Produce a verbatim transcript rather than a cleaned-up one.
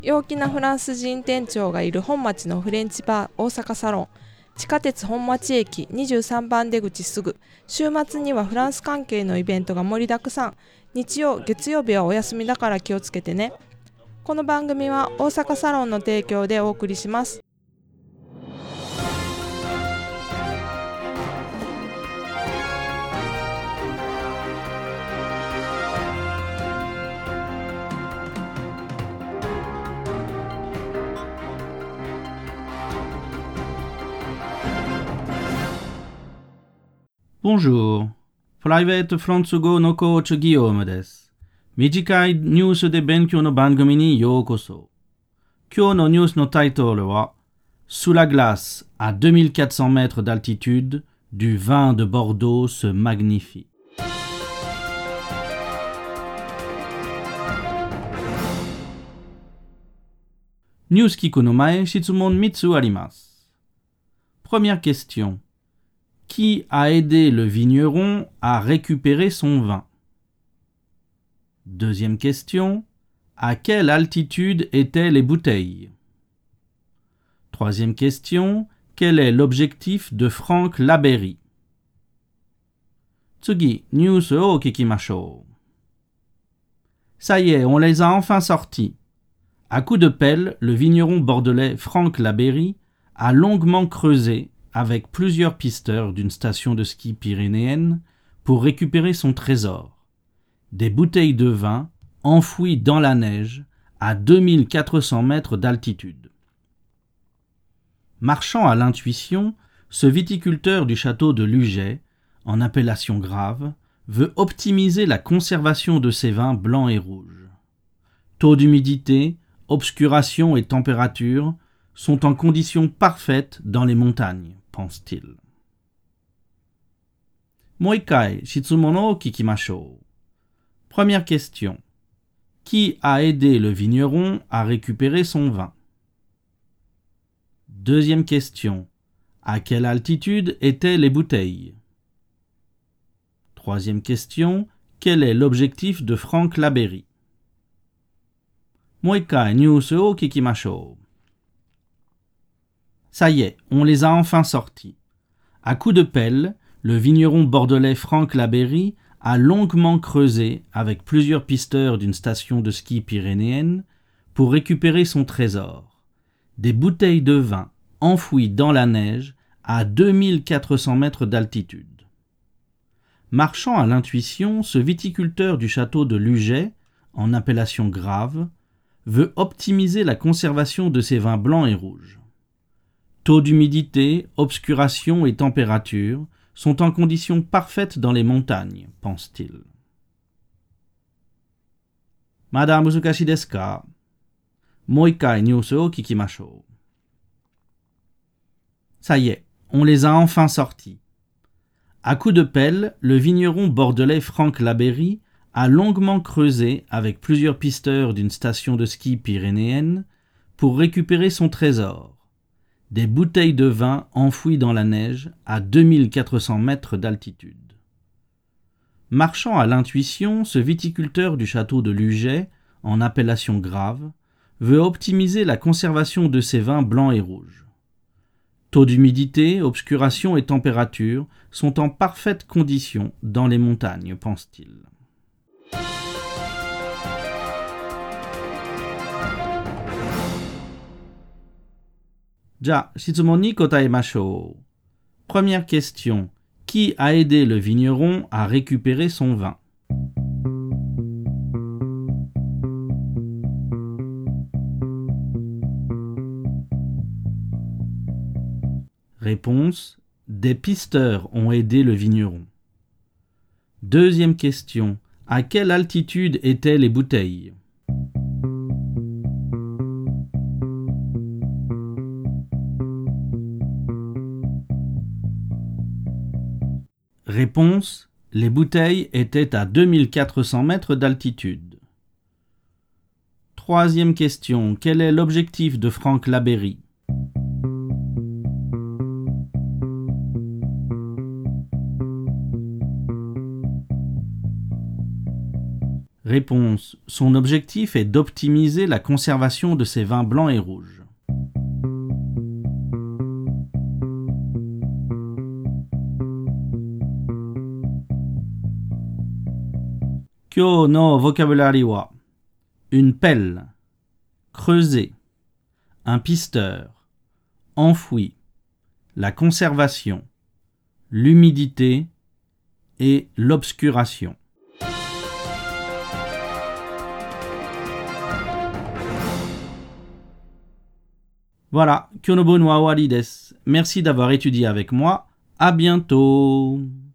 陽気なフランス人店長がいる本町のフレンチバー大阪サロン。地下鉄本町駅にじゅうさんばん出口すぐ。週末にはフランス関係のイベントが盛りだくさん。日曜、月曜日はお休みだから気をつけてね。この番組は大阪サロンの提供でお送りします。 Bonjour. Private フランス語のコーチギヨームです。短いニュースで勉強の番組にようこそ。今日のニュースのタイトルは Sous la glace, à deux mille quatre cents mètres d'altitude, du vin de Bordeaux se magnifie. ニュース聞くの前、質問みっつあります。Première question.Qui a aidé le vigneron à récupérer son vin? Deuxième question. À quelle altitude étaient les bouteilles? Troisième question. Quel est l'objectif de Franck Labéry? Tsugi, news o kikimashou. Ça y est, on les a enfin sortis. À coups de pelle, le vigneron bordelais Franck Labéry a longuement creusé avec plusieurs pisteurs d'une station de ski pyrénéenne pour récupérer son trésor, des bouteilles de vin enfouies dans la neige à deux mille quatre cents mètres d'altitude. Marchant à l'intuition, ce viticulteur du château de Luget, en appellation grave, veut optimiser la conservation de ses vins blancs et rouges. Taux d'humidité, obscuration et température sont en conditions parfaites dans les montagnes, pense-t-il. Moikai, shitsumono kikimashou. Première question. Qui a aidé le vigneron à récupérer son vin? Deuxième question. À quelle altitude étaient les bouteilles? Troisième question. Quel est l'objectif de Franck Labéry? Moikai, news o kikimashou. Ça y est, on les a enfin sortis. À coups de pelle, le vigneron bordelais Franck Labéry a longuement creusé avec plusieurs pisteurs d'une station de ski pyrénéenne pour récupérer son trésor, des bouteilles de vin enfouies dans la neige à deux mille quatre cents mètres d'altitude. Marchant à l'intuition, ce viticulteur du château de Luget, en appellation grave, veut optimiser la conservation de ses vins blancs et rouges. Taux d'humidité, obscuration et température sont en conditions parfaites dans les montagnes, pense-t-il. Madame musukashi desu ka? Moikai news o kikimashou. Ça y est, on les a enfin sortis. À coups de pelle, le vigneron bordelais Franck Labéry a longuement creusé avec plusieurs pisteurs d'une station de ski pyrénéenne pour récupérer son trésor, des bouteilles de vin enfouies dans la neige à deux mille quatre cents mètres d'altitude. Marchant à l'intuition, ce viticulteur du château de Luget, en appellation grave, veut optimiser la conservation de ses vins blancs et rouges. Taux d'humidité, obscuration et température sont en parfaite condition dans les montagnes, pense-t-il. Ja, shitsumon ni kotaemashou. Première question. Qui a aidé le vigneron à récupérer son vin? Réponse. Des pisteurs ont aidé le vigneron. Deuxième question. À quelle altitude étaient les bouteilles? Réponse. Les bouteilles étaient à deux mille quatre cents mètres d'altitude. Troisième question. Quel est l'objectif de Franck Labéry? Réponse. Son objectif est d'optimiser la conservation de ses vins blancs et rouges. Kyo no vocabulari wa. Une pelle. Creuser. Un pisteur. Enfoui. La conservation. L'humidité et l'obscuration. Voilà, Kyonobo no awari desu. Merci d'avoir étudié avec moi. À bientôt.